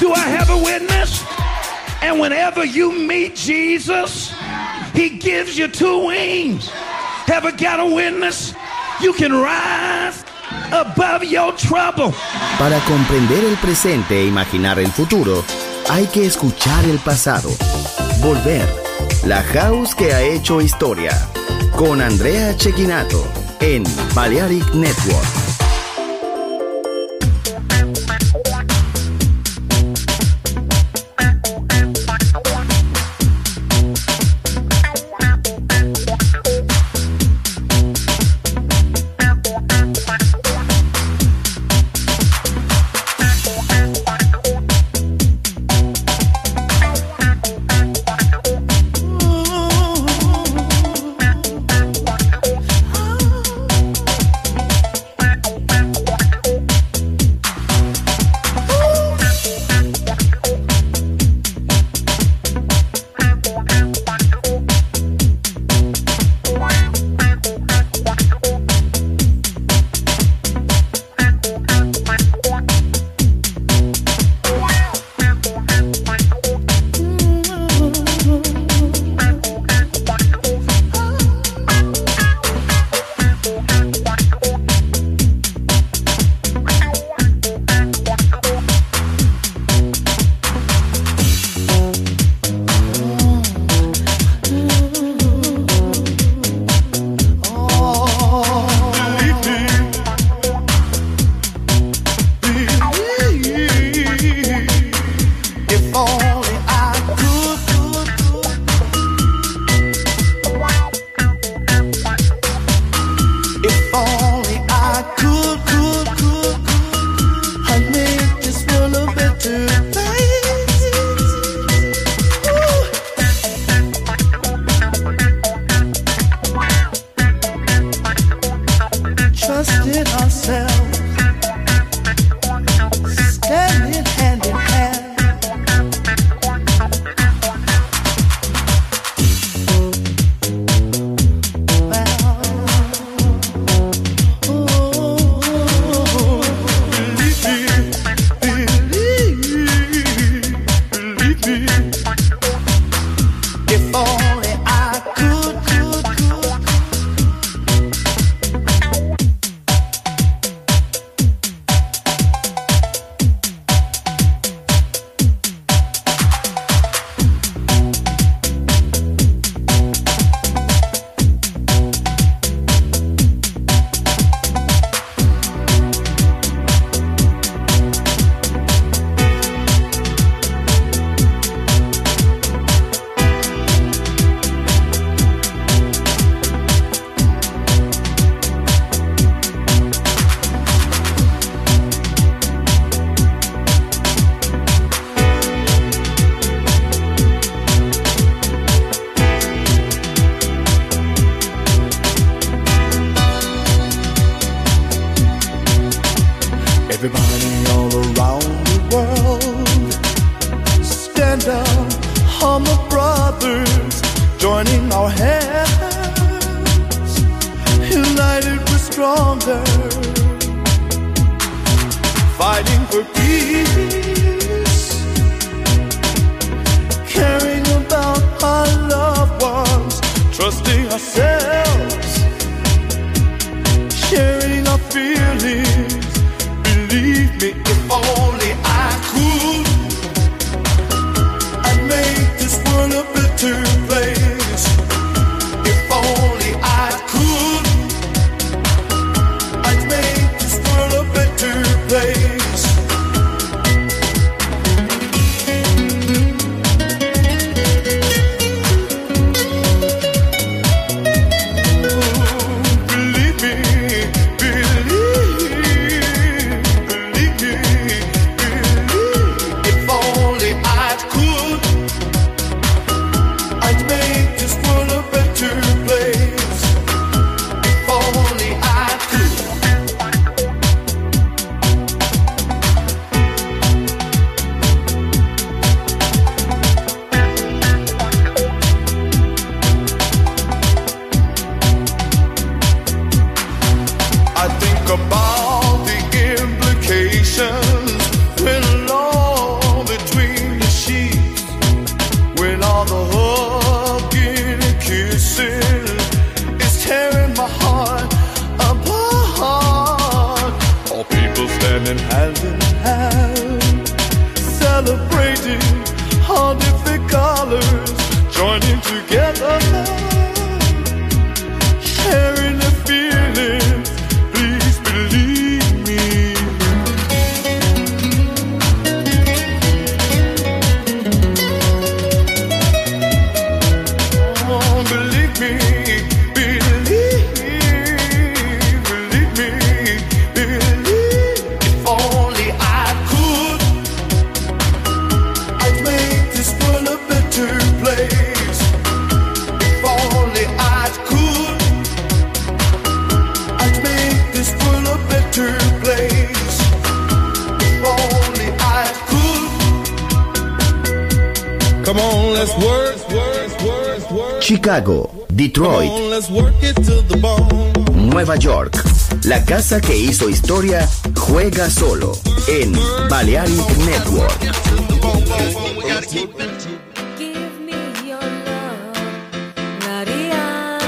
Do I have a witness? And whenever you meet Jesus, he gives you two wings. Have I got a witness? You can rise above your trouble. Para comprender el presente e imaginar el futuro, hay que escuchar el pasado. Volver. La House que ha hecho historia. Con Andrea Cecchinato en Balearic Network. Everybody all around the world, stand up, humble brothers, joining our hands, united we're stronger, fighting for peace, caring about our loved ones, trusting ourselves, sharing our feelings. Believe me, if only I could, I'd make this world a better place. If only I could, I'd make this world a better place. all the hugging and kissing is tearing my heart apart. All people standing hand in hand, celebrating all different colors, joining together, sharing the feelings. Please believe me. Oh, believe me, believe me, believe. If only I could, I'd make this world a better place. If only I could, I'd make this world a better place. If only I could. Come on, let's work. Chicago, Detroit, Come on, let's work it to the bone. Nueva York. La casa que hizo historia juega solo en Balearic Network. Give me your love, Maria.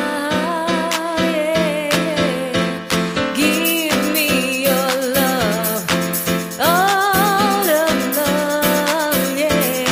Yeah. Give me your love, all of love. Yeah.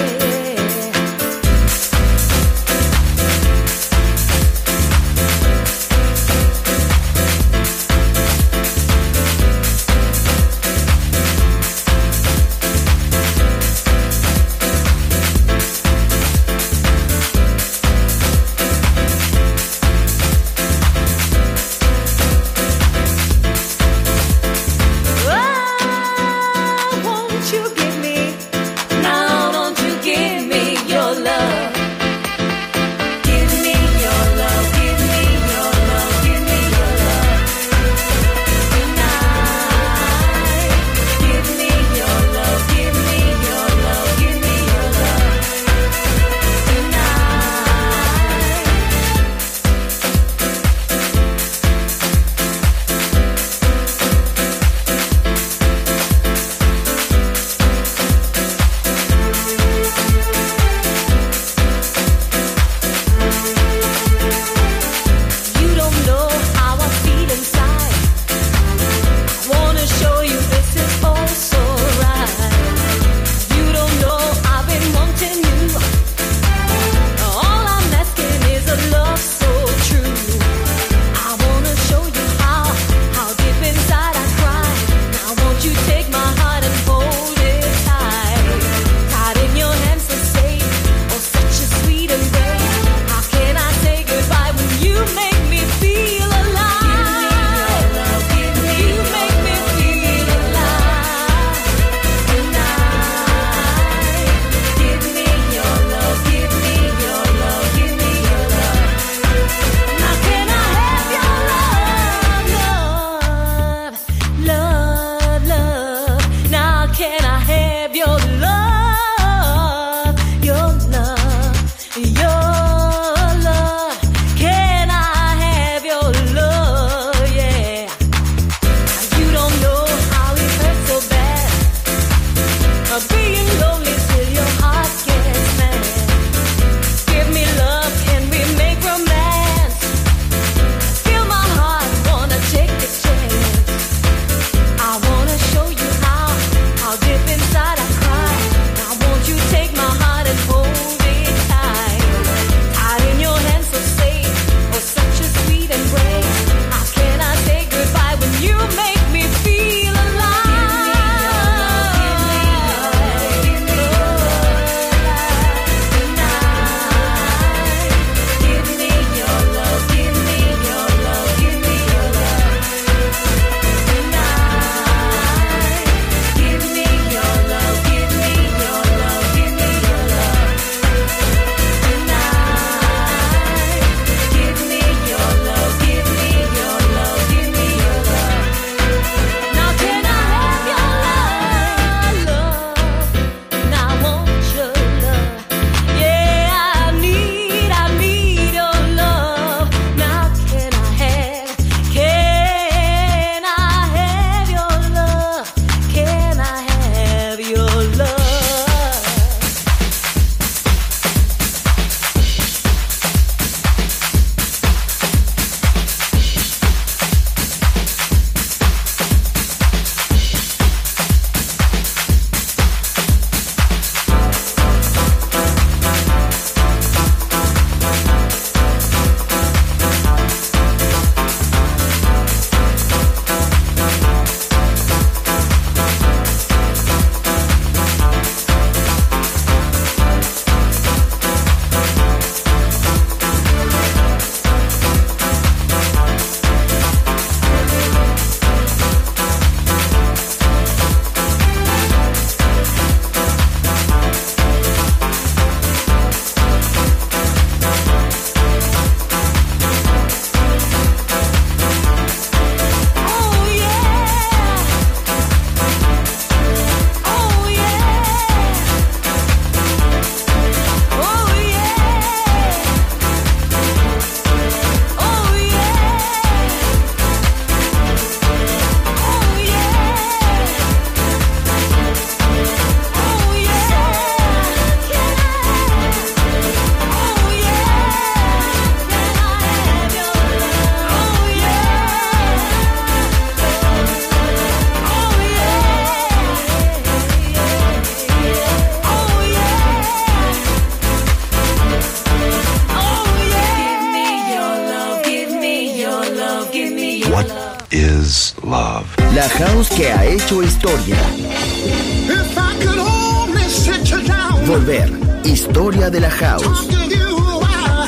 La house que ha hecho historia. If I could only sit you down, Volver. Historia de la house. talk to you while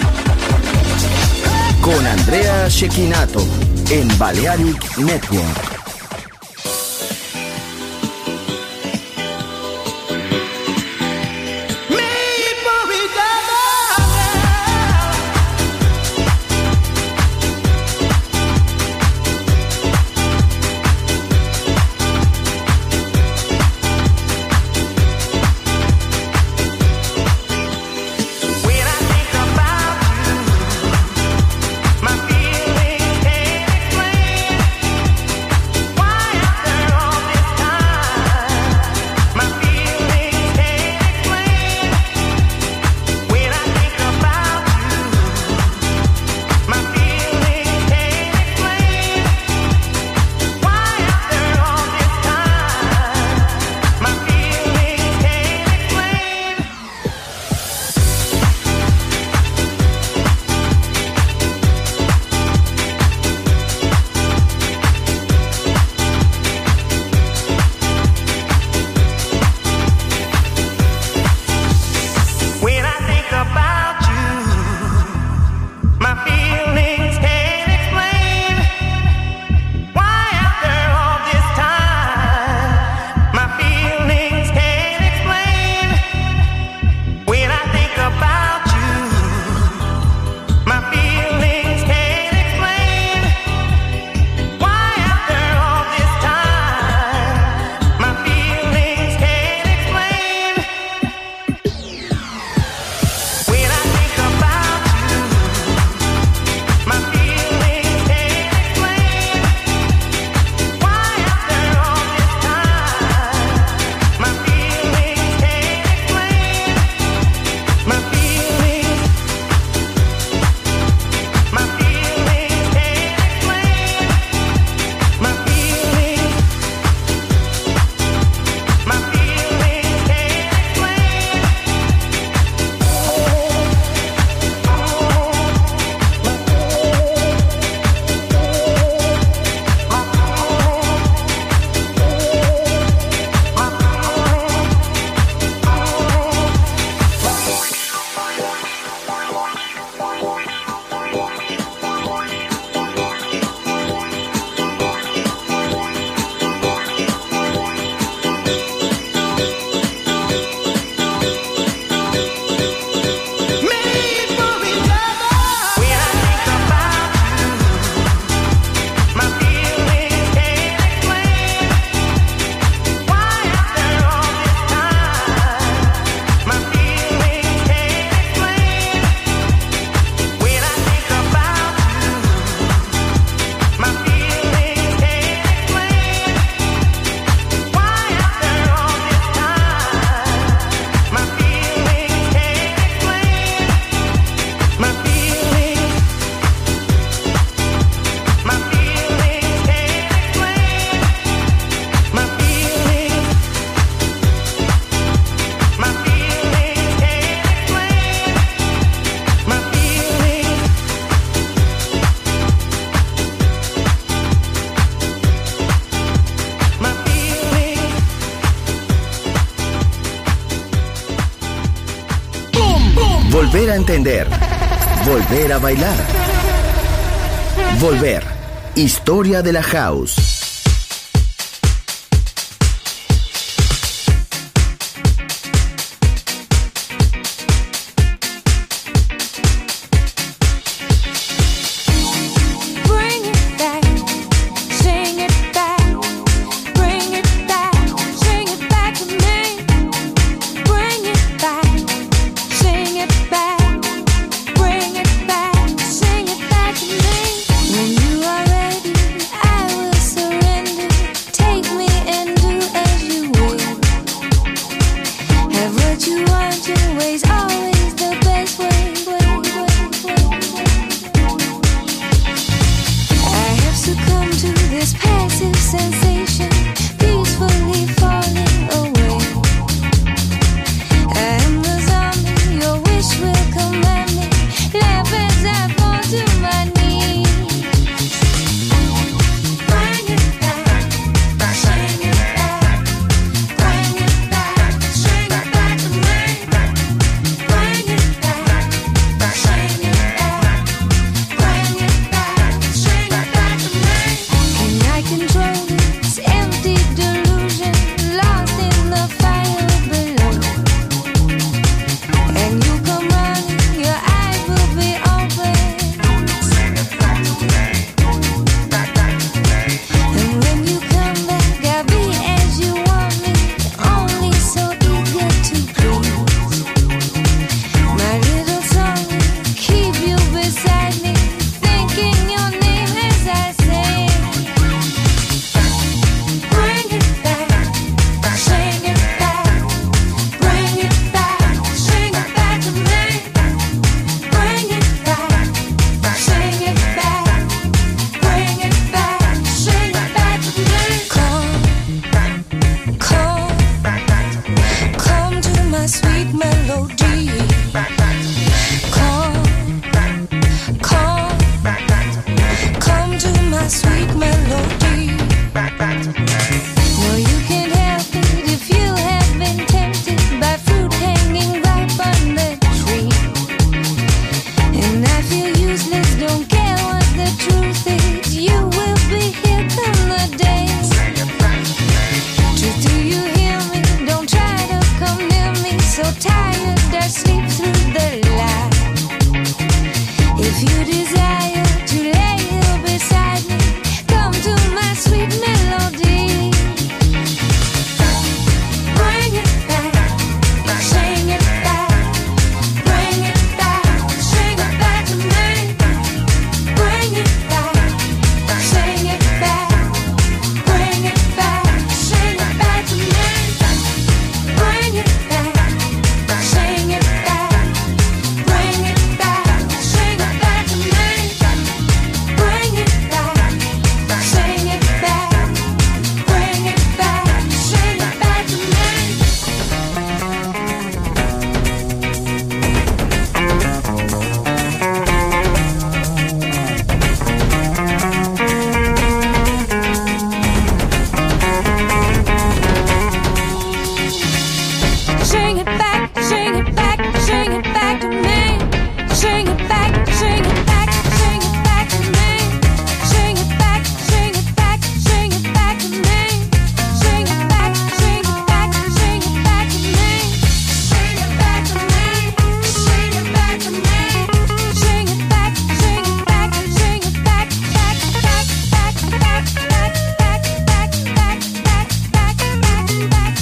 Con Andrea Cecchinato en Balearic Network. made for each other. When I think about you, my feelings can't explain why after all this time. My feelings can't explain. When I think about you, my feelings can't explain why after all this time. My feelings can't explain. When I think about you, my feelings can't explain why after all this time. My feelings can't explain. When I think about you, my feelings can't explain why after all this time. My feelings can't explain. When I think about you, my feelings can't explain why after all this time. My feelings can't explain. My feelings, my feelings can't explain. My feelings, my feelings can't explain. Made for each other. When I think about you, my feelings can't explain why after all this time. My feelings can't explain. When I think about you, my feelings can't explain why after all this time. My feelings can't explain. My feelings, my feelings can't explain. My feelings, my feelings can't explain. My feelings, my feelings. Volver a entender. Volver a bailar. Volver. Historia de la house. Bring it back, sing it back, bring it back, sing it back to me. Bring it back, sing it back, bring it back, sing it back to me. When you are ready, I will surrender. Take me and do as you will. Have what you want, your way's always the best way. I have succumbed to this passive sensation, peacefully falling away. I am the zombie, your wish will command me. Laugh as I fall to my knees. Bring it back, sweet melody. Come to my sweet melody. No, you can't help it if you have been tempted by fruit hanging ripe on the tree. And I feel useless, don't care what the truth is. You will be here come the day. Truth, do you hear me? Don't try to come near me. So tired, I sleep through the light. If you desire to lay here beside me, come to my sweet melody. Bring it back, sing it back. Bring it back, sing it back to me. Bring it back, sing it back. Bring it back, sing it back to me. Bring it back, sing it back. Bring it back, sing it back to me. Bring it back, sing it back. Bring it back, sing it back to me. Sing it back, sing it back, sing it back to me. Sing it back, sing it back, sing it back to me. Sing it back, sing it back, sing it back to me. Sing it back, sing it back, sing it back to me. Sing it back to me, sing it back to me. Sing it back, sing it back, sing it back, back, back, back, back, back, back, back, back, back, back, back, back.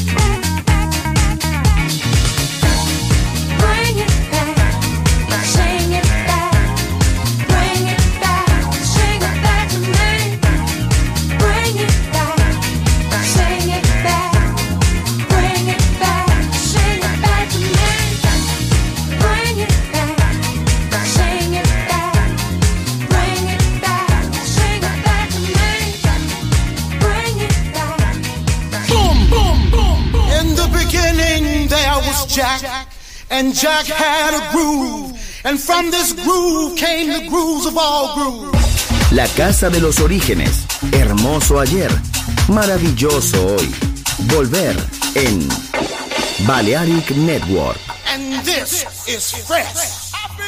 Bring it back, sing it back. Bring it back, sing it back to me. Bring it back, sing it back. Bring it back, sing it back to me. Bring it back, sing it back. Bring it back, sing it back to me. Bring it back. Boom, boom, boom, boom. In the beginning there was Jack, and Jack had a groove, and from this groove came the grooves of all grooves. La casa de los orígenes. Hermoso ayer. Maravilloso hoy. Volver en Balearic Network. And this is fresh.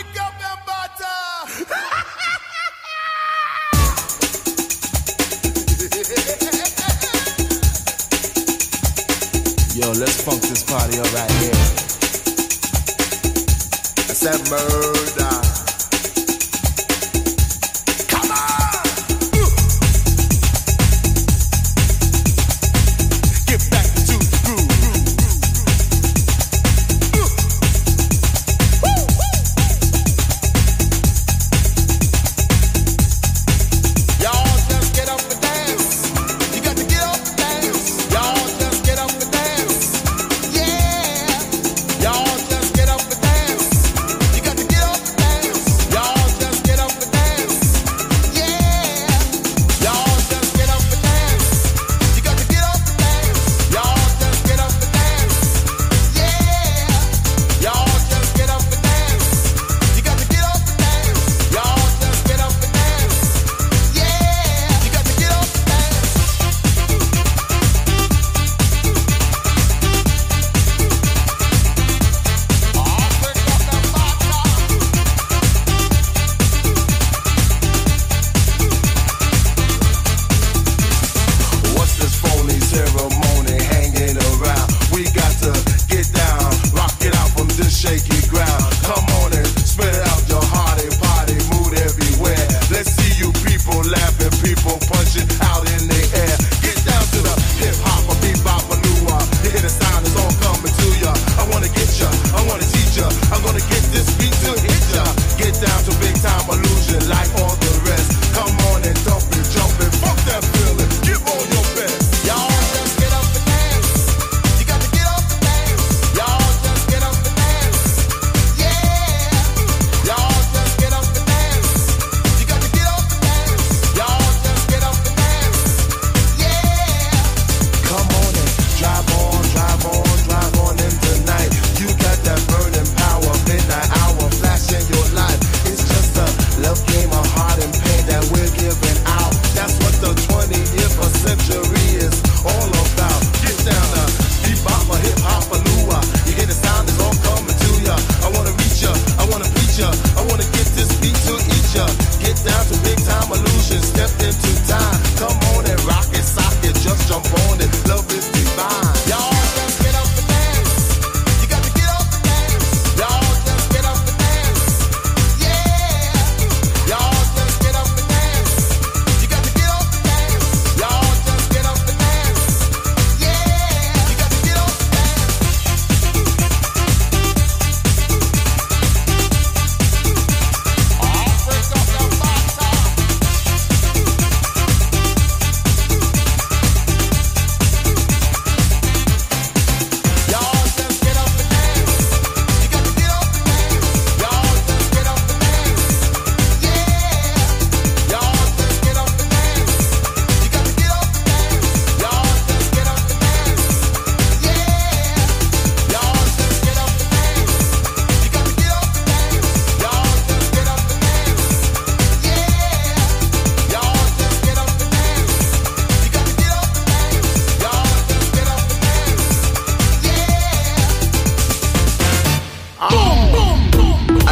Yo, let's funk this party up right here. I said murder. Come on! Get back to the groove. Y'all just get up and dance. You got to get up and dance. Y'all just get up and dance. Yeah. Y'all just get up and dance. You got to get up and dance. Y'all just get up and dance. Yeah. Y'all just get up and dance. You got to get up and dance. Y'all just get up and dance. Yeah. Y'all just get up and dance. You got to get up and dance. Y'all just get up and dance. Yeah. You got to get up and dance. What's this phony ceremony hanging around? We got to get down, rock it out from this shaky ground. Come on and spit out your hearty party mood everywhere. Let's see you people laughing, people punching out in the air. Get down to the hip hop, a bebop, a new one. You hear the sound, it's all coming to ya. I wanna get ya, I wanna teach ya. I'm gonna get this beat to hit ya. Get down to big time illusion like all the rest. Come on and dump it, jump it, fuck that feeling. Give all your best. Y'all just get up and dance. You got to get up and dance. Y'all just get up and dance. Yeah. Y'all just get up and dance. You got to get up and dance. Y'all just get up and dance. Yeah. Come on and drive on in tonight. You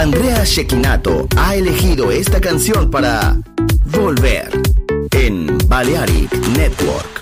Andrea Cecchinato ha elegido esta canción para volver en Balearic Network.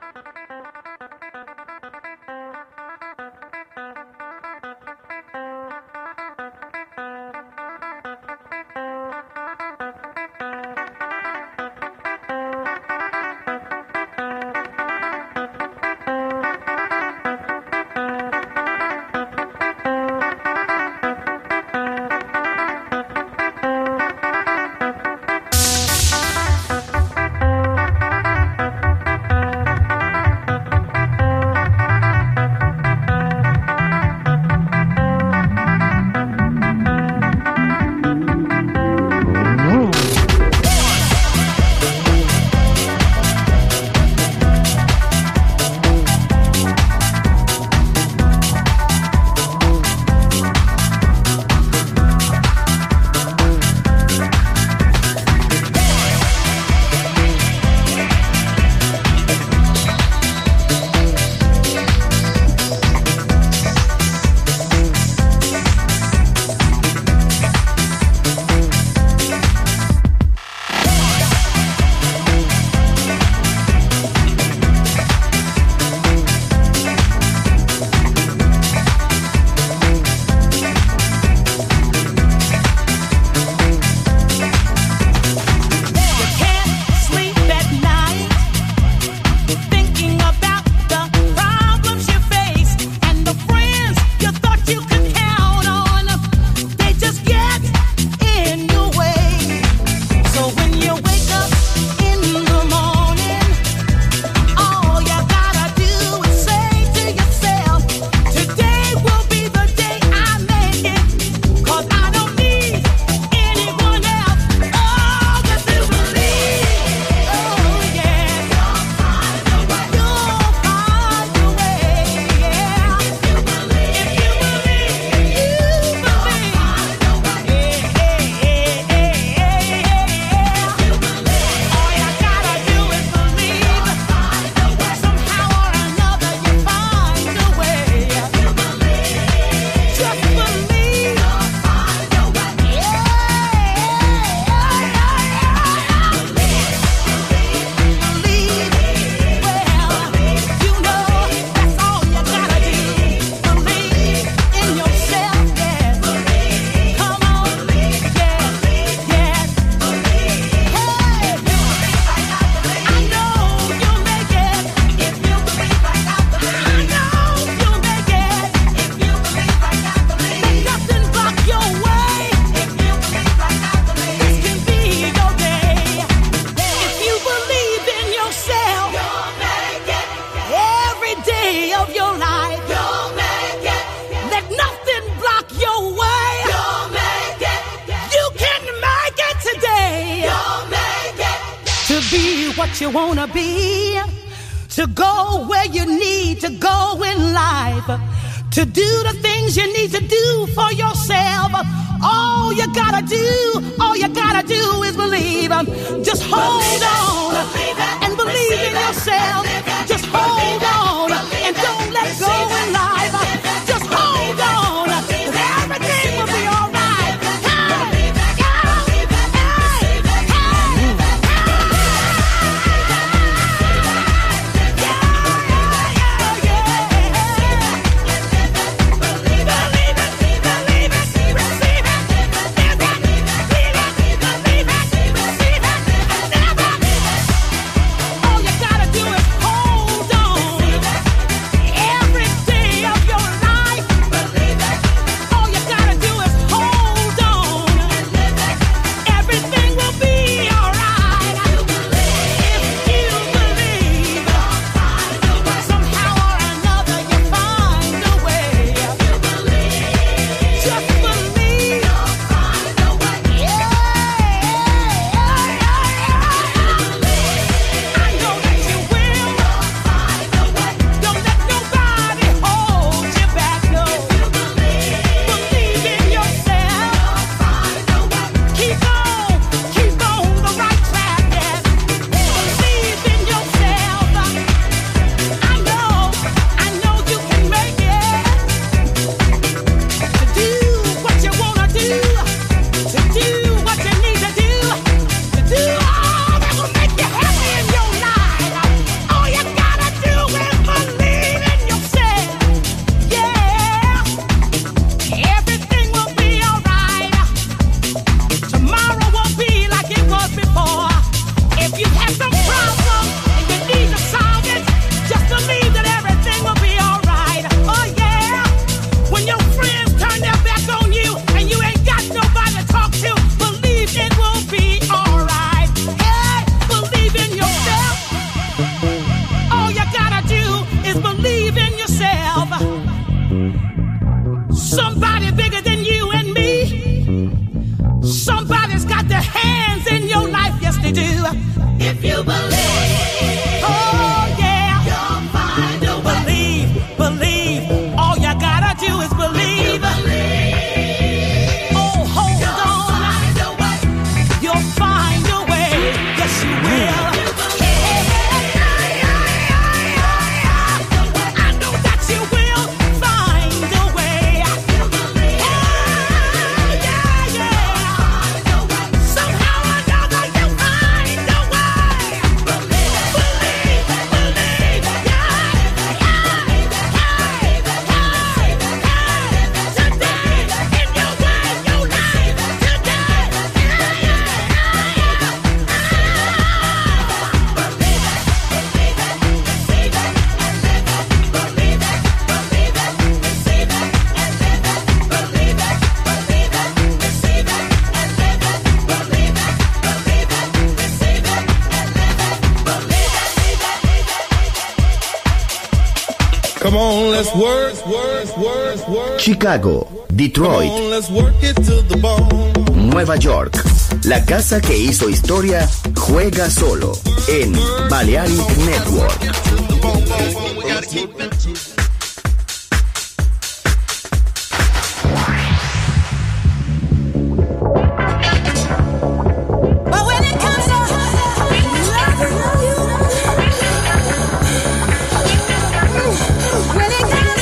what you wanna be, to go where you need to go in life, to do the things you need to do for yourself. All you gotta do is believe. Just hold on and believe in yourself. Just hold on and don't let go in life. Just hold on, everything will be all right. All you gotta do is hold on. bigger than you and me. Somebody's got their hands in your life, yes they do. If you believe, oh yeah, you'll find a way. Believe, all you gotta do is believe. Oh, hold on, you'll find a way, yes you will. Come on, let's work. Chicago, Detroit, Come on, let's work it to the bone. Nueva York. La casa que hizo historia juega solo en Balearic Network. But when it comes to when it comes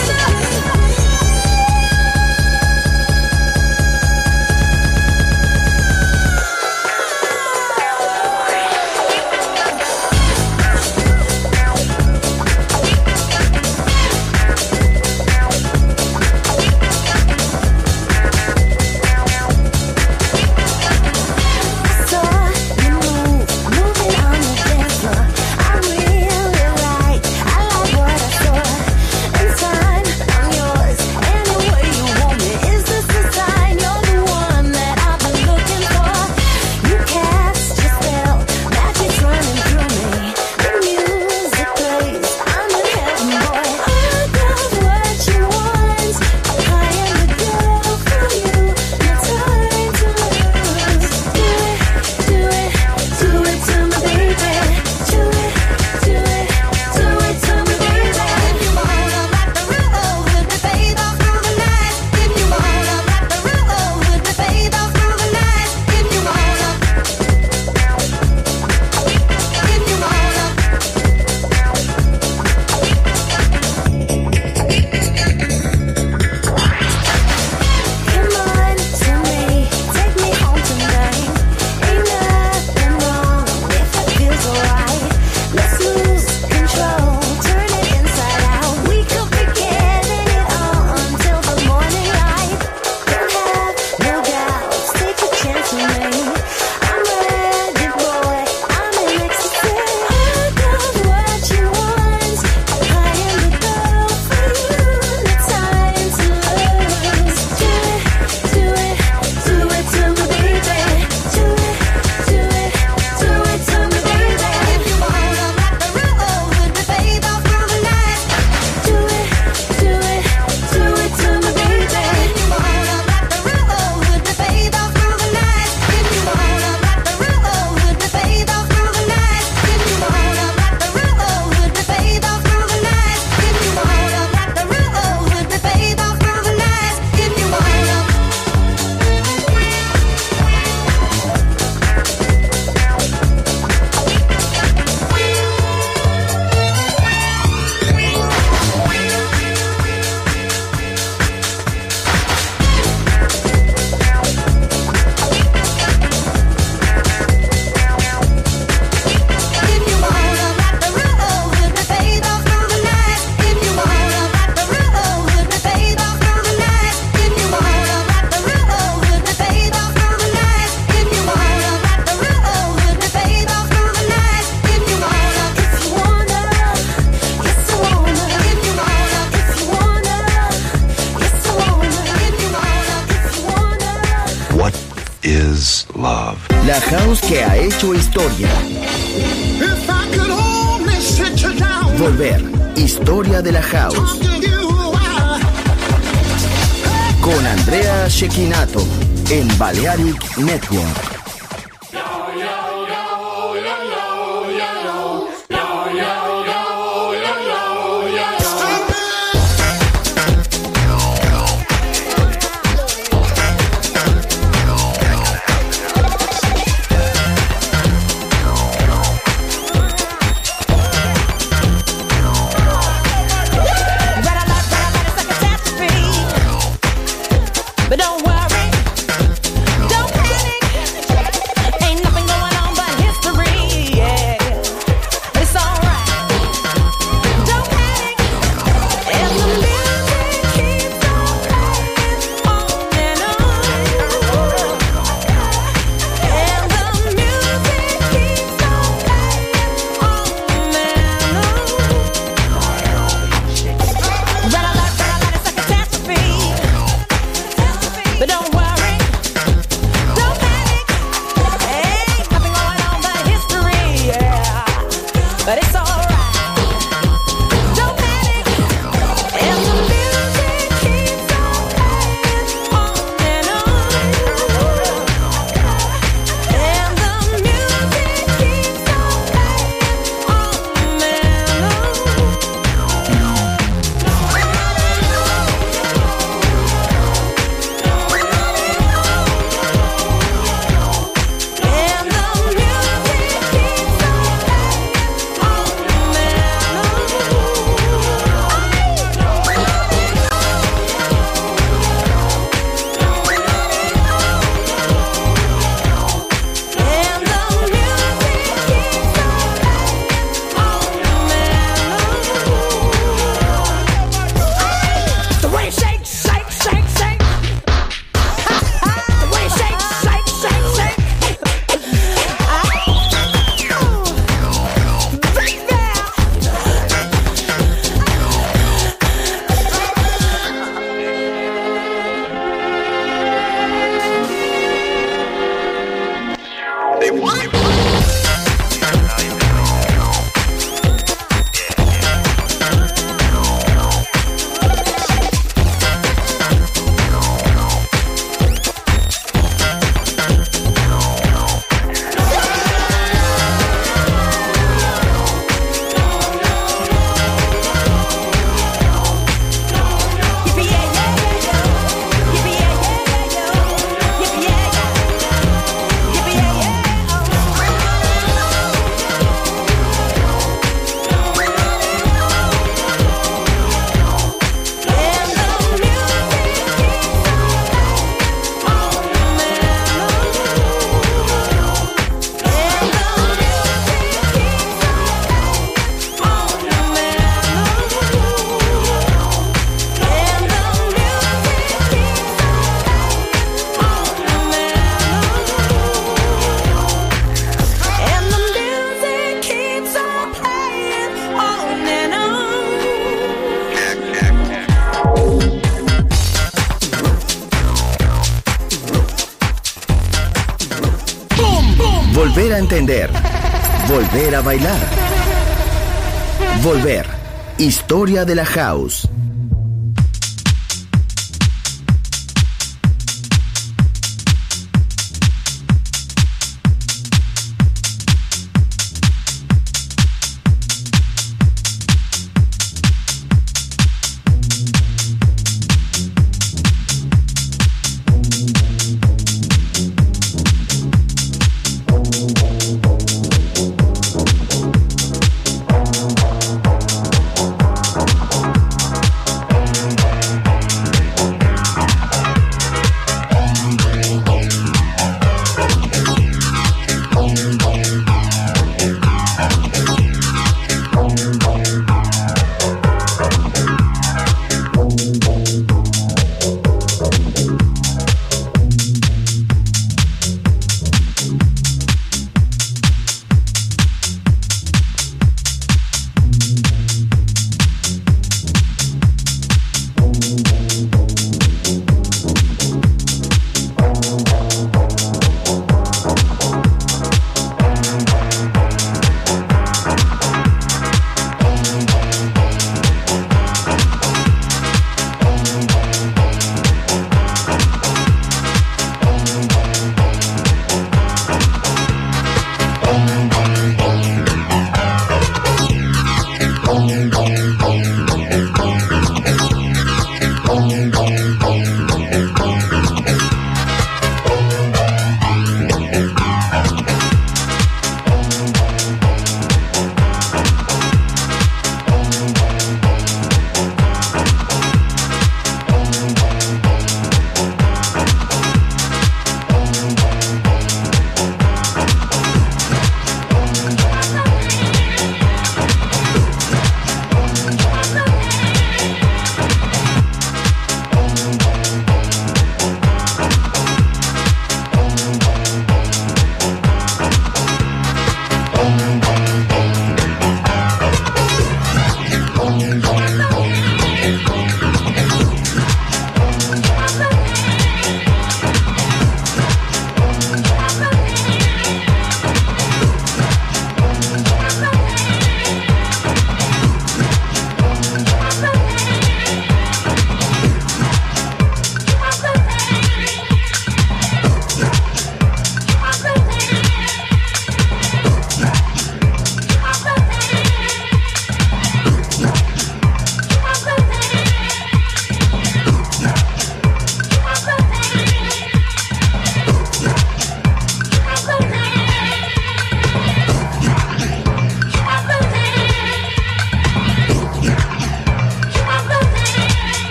is love. La house que ha hecho historia. If I could only sit you down, Volver. Historia de la house. talk to you, con Andrea Cecchinato en Balearic Network. But don't worry, don't panic. Ain't nothing going on but history, yeah. But it's alright. Don't panic. And the music keeps on playing on and on. And the music keeps on playing on and on. Red alert, it's a catastrophe. But don't worry, don't panic. Ain't nothing going on but history, yeah. But it's alright. Don't panic. And the music keeps on playing on and on. And the music keeps on playing on and on. And the music keeps on playing on and on. And the music keeps on playing on. The way it shakes, shake, shake, shake. The way it shakes, shake, shake, shake. Volver a entender. Volver a bailar. Volver. Historia de la house.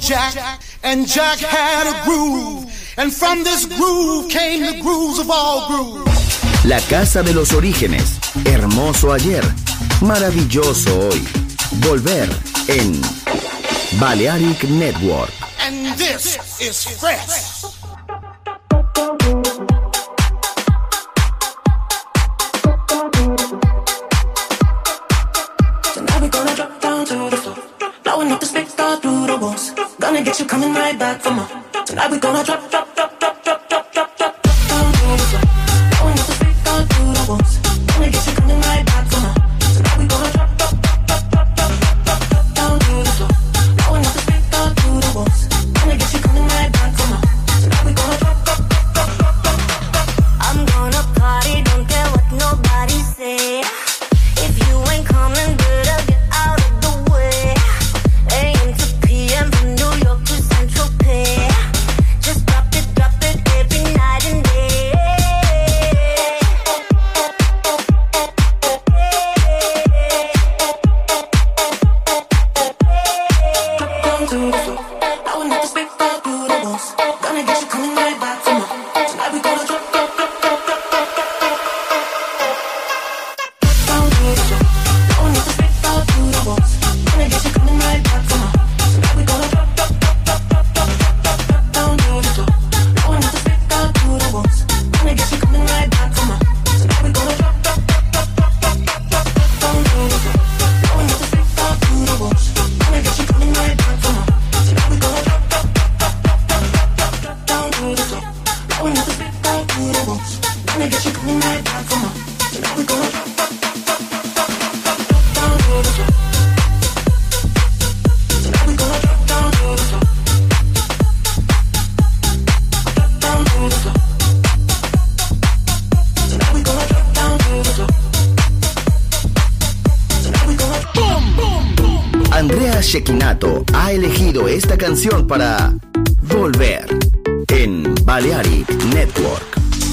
Jack, and Jack had a groove, and from this groove came the grooves of all grooves. La casa de los orígenes, hermoso ayer, maravilloso hoy. Volver en Balearic Network. And this is fresh. Tonight we're gonna drop down to the floor, blowing up the speaker through the walls. Gonna get you coming right back for more. Tonight we're gonna drop down to the floor, blowing up the speaker through the walls. Gonna get you coming right back for more. Tonight we're gonna drop down to the floor, blowing up the speaker through the walls. Gonna get you coming right back for more. Tonight we're gonna drop. I'm gonna party, don't care what nobody say. If you ain't coming, better get out of the way. AM to PM from New York to Central Pay. Just drop it every night and day. Drop down to the floor, blowing up the speaker through the walls. Gonna get you coming right back for more. Tonight we gonna drop down to the floor, blowing up the speaker through the walls. Gonna get you coming right back for more. Tonight we gonna drop down to the floor, blowing up the speaker through the walls. Gonna get you coming right back for more. Tonight we gonna drop down to the floor, blowing up the speaker through the walls. Gonna get you coming right back for more. Tonight we gonna drop down to the floor, blowing up the speaker through the walls. Gonna get you coming right back for more. Tonight we gonna drop down to the floor. Tonight we gonna drop down to the floor. Drop down to the floor. Tonight we gonna drop down to the floor. Tonight we gonna boom boom boom. Andrea Cecchinato ha elegido esta canción para Volver en Balearic Network.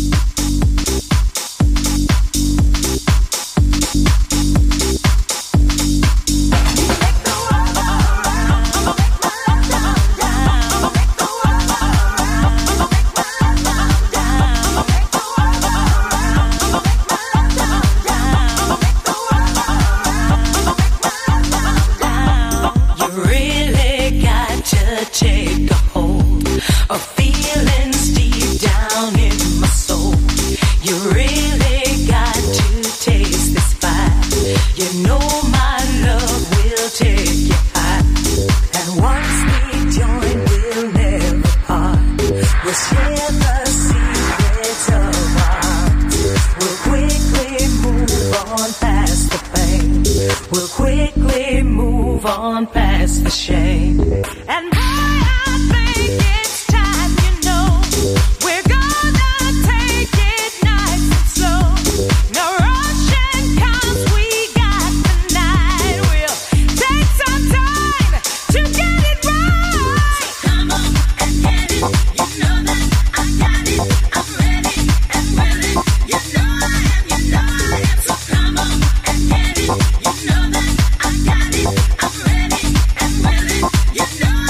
You really got to take a hold of feelings deep down in my soul. You really got to taste this fire. You know my love will take you high. And once we join, we'll never part. We'll share the secrets of our hearts. We'll quickly move on past the pain. We'll quickly move on past the shame. And boy, I think it's time, you know, we're gonna take it nice and slow. No rushing 'cause we got the night. We'll take some time to get it right. Come on and get it. You know that I got it. I'm ready and willing. You know I am. So come on and get it. You know that I got it. I'm ready and willing. You know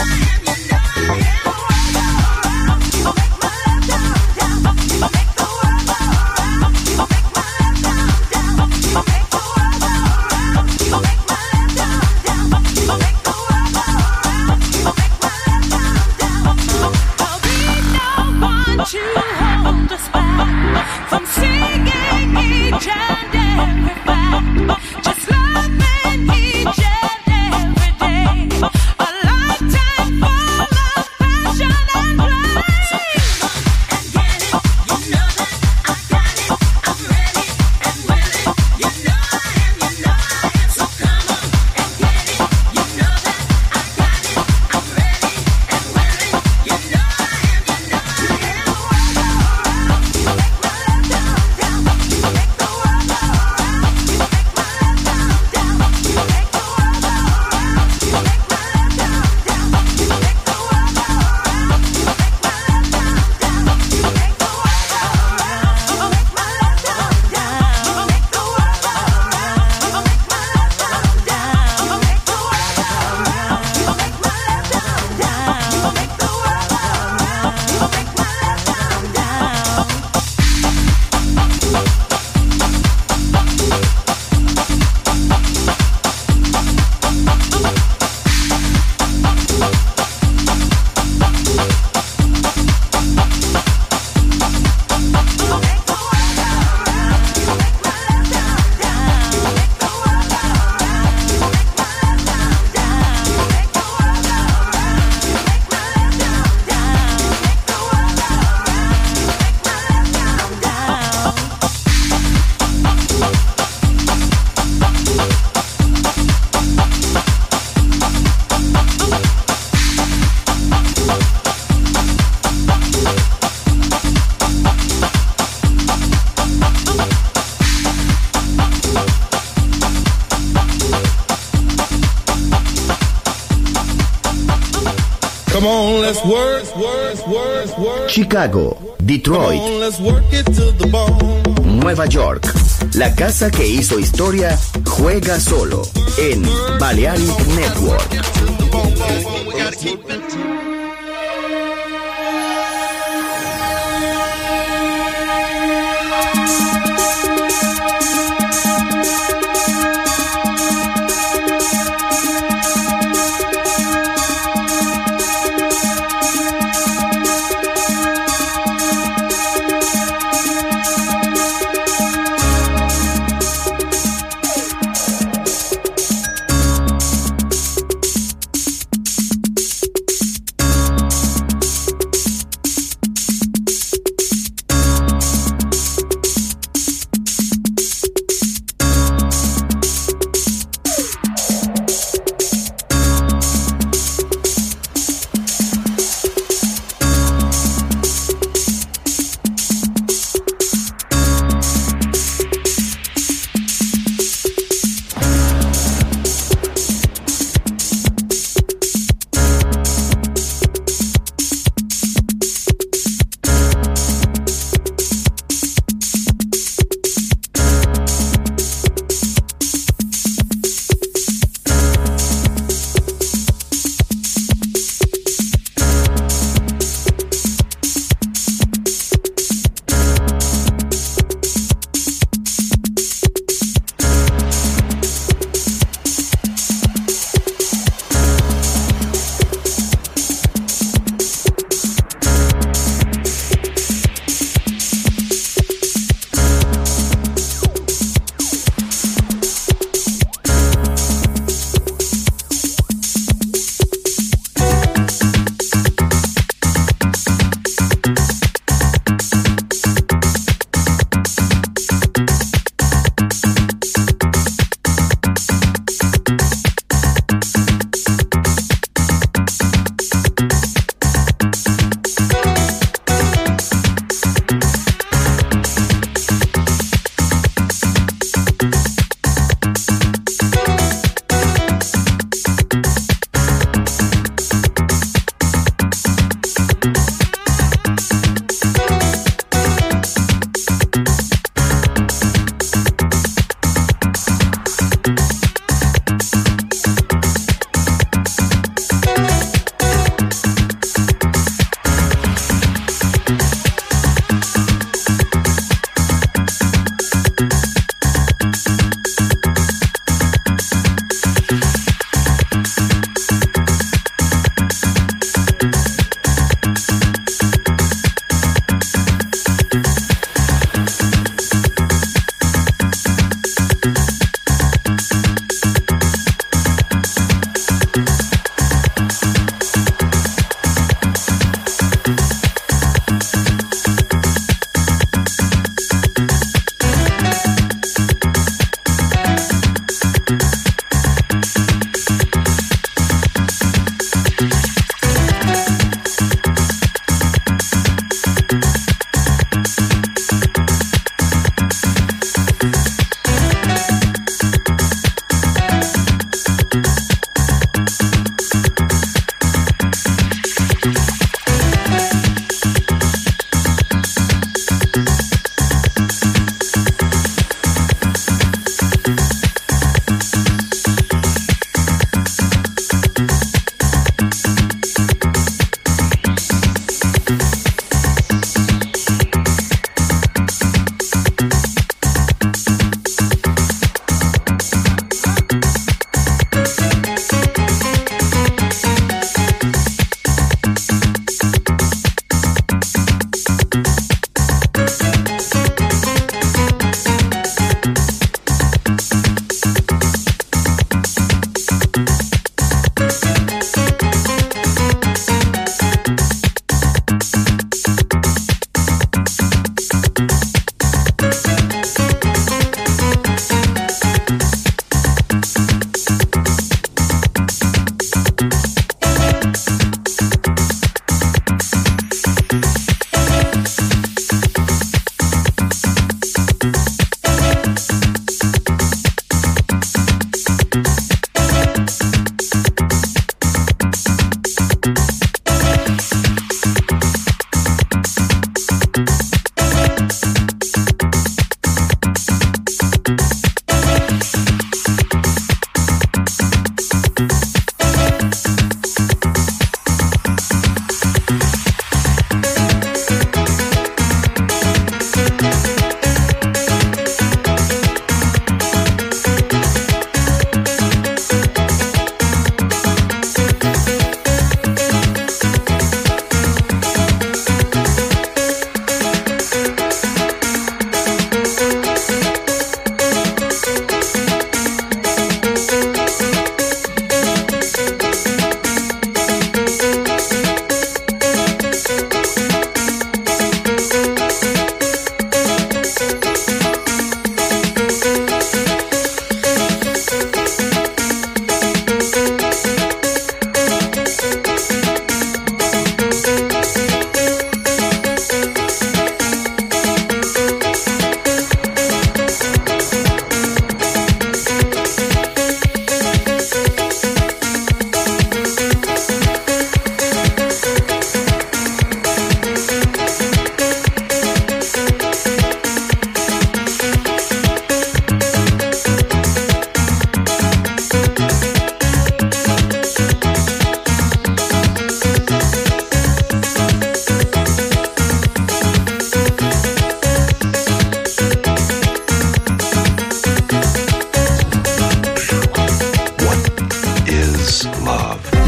Come on, let's work. Chicago, Detroit, Come on, let's work it to the bone. Nueva York. La casa que hizo historia juega solo en Balearic Network. We gotta keep it.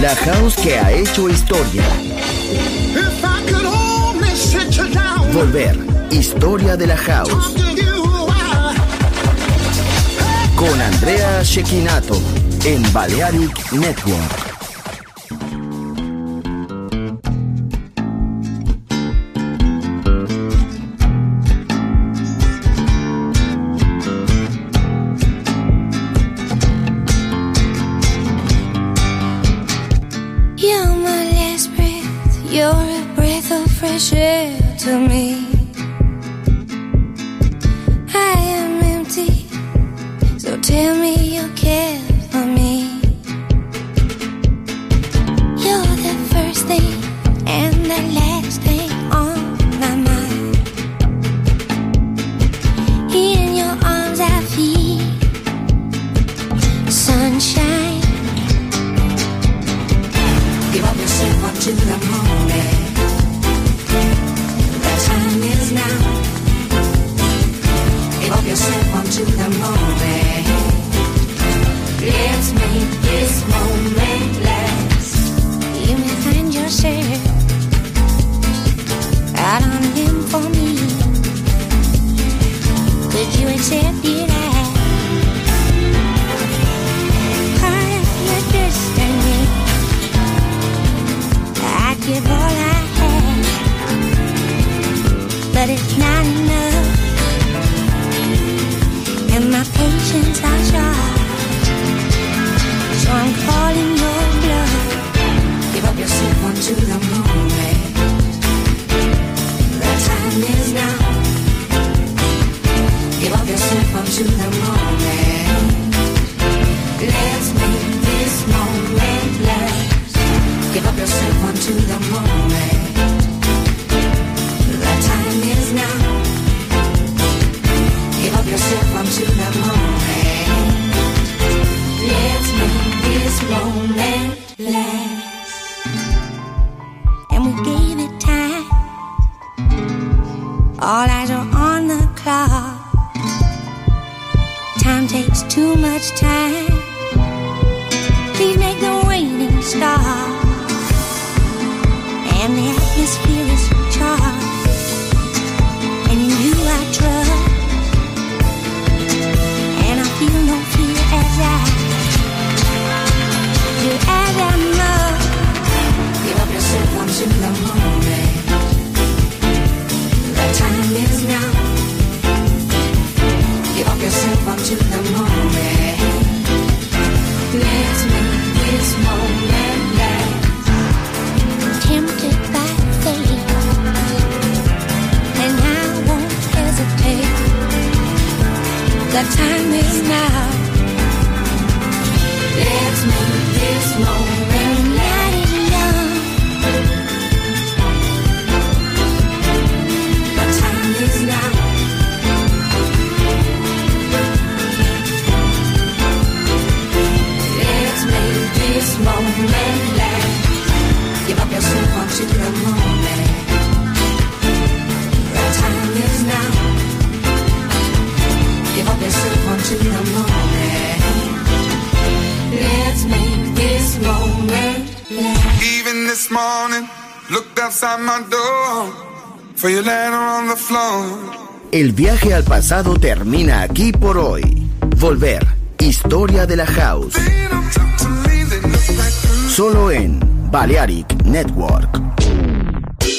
La house que ha hecho historia. If I could only sit you down, Volver. Historia de la house. talk to you while Con Andrea Cecchinato en Balearic Network. You're my last breath, you're a breath of fresh air to me. I am empty, so tell me you care for me. You're the first thing and the last thing on my mind. In your arms I feel sunshine. Give up yourself up to the moment. The time is now. Give up yourself up to the moment. Let's make this moment last. You may find yourself out on a limb for me. Could you accept it as part of your destiny? I'd give all I have, but it's not enough, and my patience are short, so I'm calling your bluff. Give up yourself onto the moment. The time is now. Give up yourself onto the moment. Let's make this moment last. Give up yourself onto the moment. The time is now. Give up yourself onto the moment. Let's make this moment last. And we gave it time. All eyes are on the clock. Time takes too much time. Please make the waiting stop. And the atmosphere is charged. And in you I trust. And I feel no fear as I do as I must. Give up yourself onto the moment. The time is now. Give up yourself onto the moment. Let's make this moment last. Tempted by fate, and I won't hesitate. The time is now. Let's make this moment Light last. is young. The time is now. Let's make this moment last. Give up yourself onto the moment. The time is now. Give up yourself onto the moment. Let's make this moment last. Even this morning, looked outside my door for your letter on the floor. El viaje al pasado termina aquí por hoy. Volver. Historia de la house. Ain't no time to leave, they look like Solo en Balearic Network.